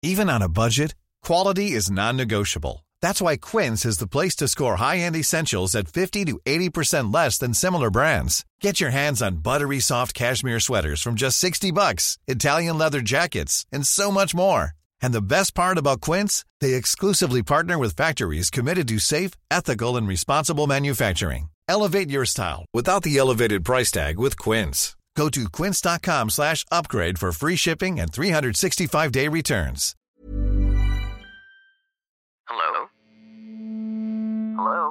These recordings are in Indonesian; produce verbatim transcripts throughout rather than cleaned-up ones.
Even on a budget, quality is non-negotiable. That's why Quince is the place to score high-end essentials at fifty to eighty percent less than similar brands. Get your hands on buttery soft cashmere sweaters from just sixty bucks, Italian leather jackets, and so much more. And the best part about Quince, they exclusively partner with factories committed to safe, ethical, and responsible manufacturing. Elevate your style without the elevated price tag with Quince. Go to quince.com slash upgrade for free shipping and three sixty-five day returns. Hello? Hello?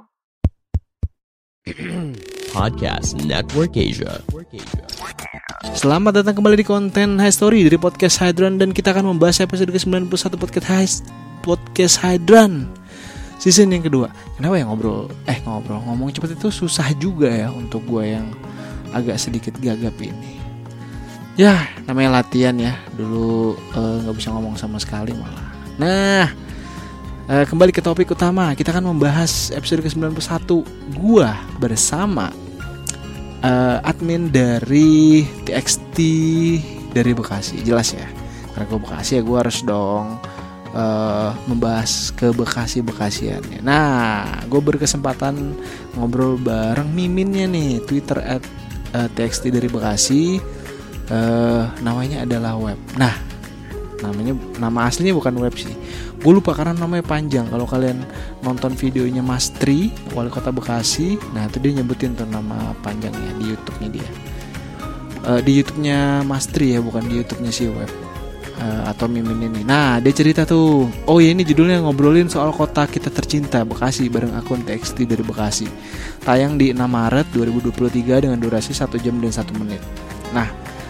Podcast Network Asia. Selamat datang kembali di konten High Story dari Podcast Hydran. Dan kita akan membahas episode ke sembilan puluh satu Podcast High Podcast Hydran season yang kedua. Kenapa ya ngobrol Eh ngobrol ngomong cepet itu susah juga ya untuk gue yang agak sedikit gagap ini. Ya namanya latihan ya. Dulu uh, gak bisa ngomong sama sekali malah. Nah uh, kembali ke topik utama. Kita akan membahas episode ke sembilan puluh satu. Gua bersama uh, admin dari T X T dari Bekasi. Jelas ya, karena gue Bekasi ya gue harus dong uh, membahas ke Bekasi-Bekasiannya. Nah gue berkesempatan ngobrol bareng miminnya nih, Twitter at uh, T X T dari Bekasi. uh, Namanya adalah Web. Nah namanya, nama aslinya bukan Web sih, gue lupa karena namanya panjang. Kalau kalian nonton videonya Mas Tri, wali kota Bekasi, nah itu dia nyebutin tuh nama panjangnya di YouTube-nya dia. uh, Di YouTube-nya Mas Tri ya, bukan di YouTube-nya si Web uh, atau Mimin ini. Nah dia cerita tuh, oh ya ini judulnya ngobrolin soal kota kita tercinta Bekasi bareng akun T X T dari Bekasi. Tayang di enam Maret dua ribu dua puluh tiga dengan durasi satu jam dan satu menit. Nah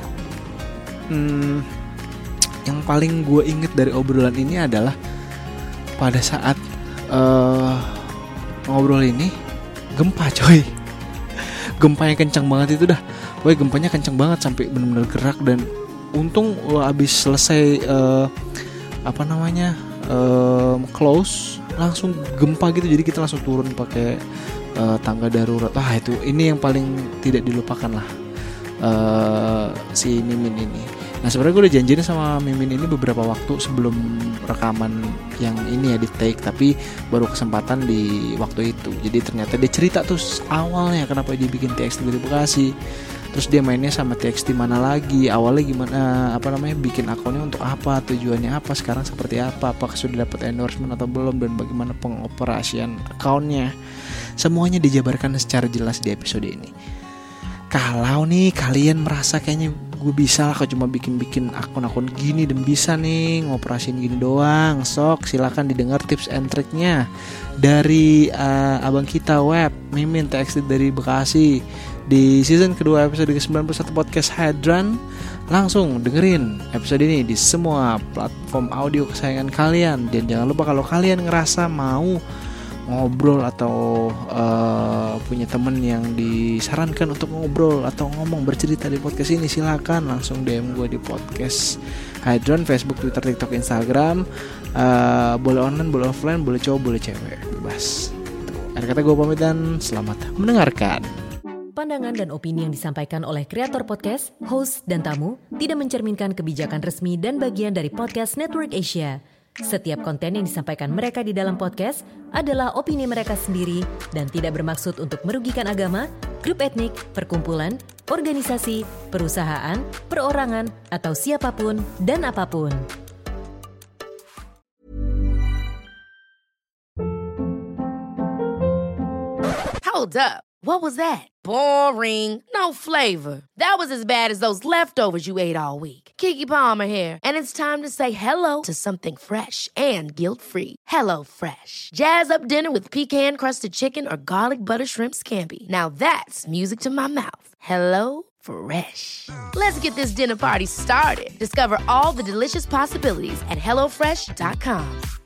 hmm, yang paling gue inget dari obrolan ini adalah pada saat uh, ngobrol ini gempa coy. Gempanya kencang banget itu dah. Woi gempanya kencang banget sampai benar-benar gerak. Dan untung uh, abis selesai uh, apa namanya uh, close langsung gempa gitu. Jadi kita langsung turun pakai uh, tangga darurat. Ah itu ini yang paling tidak dilupakan lah, uh, si Mimin ini. Nah sebenarnya gue udah janjiin sama Mimin ini beberapa waktu sebelum rekaman yang ini ya di take, tapi baru kesempatan di waktu itu. Jadi ternyata dia cerita tuh awalnya kenapa dia bikin T X T dari Bekasi, terus dia mainnya sama T X T mana lagi, awalnya gimana, apa namanya, bikin akunnya untuk apa, tujuannya apa, sekarang seperti apa, apakah sudah dapat endorsement atau belum, dan bagaimana pengoperasian akunnya. Semuanya dijabarkan secara jelas di episode ini. Kalau nih kalian merasa kayaknya gue bisa lah kok cuma bikin-bikin akun-akun gini dan bisa nih ngoperasin gini doang, sok silakan didengar tips and triknya dari uh, abang kita Web Mimin T X T dari Bekasi di season kedua episode ke sembilan puluh satu Podcast Hydran. Langsung dengerin episode ini di semua platform audio kesayangan kalian. Dan jangan lupa kalau kalian ngerasa mau ngobrol atau uh, punya temen yang disarankan untuk ngobrol atau ngomong bercerita di podcast ini, silakan langsung D M gue di Podcast Hydran, Facebook, Twitter, TikTok, Instagram. uh, Boleh online, boleh offline, boleh cowok, boleh cewek, bebas. Akhir kata gue pamit dan selamat mendengarkan. Pandangan dan opini yang disampaikan oleh kreator podcast, host, dan tamu tidak mencerminkan kebijakan resmi dan bagian dari Podcast Network Asia. Setiap konten yang disampaikan mereka di dalam podcast adalah opini mereka sendiri dan tidak bermaksud untuk merugikan agama, grup etnik, perkumpulan, organisasi, perusahaan, perorangan, atau siapapun dan apapun. Hold up. What was that? Boring. No flavor. That was as bad as those leftovers you ate all week. Keke Palmer here, and it's time to say hello to something fresh and guilt-free. Hello Fresh. Jazz up dinner with pecan-crusted chicken or garlic butter shrimp scampi. Now that's music to my mouth. Hello Fresh. Let's get this dinner party started. Discover all the delicious possibilities at hello fresh dot com.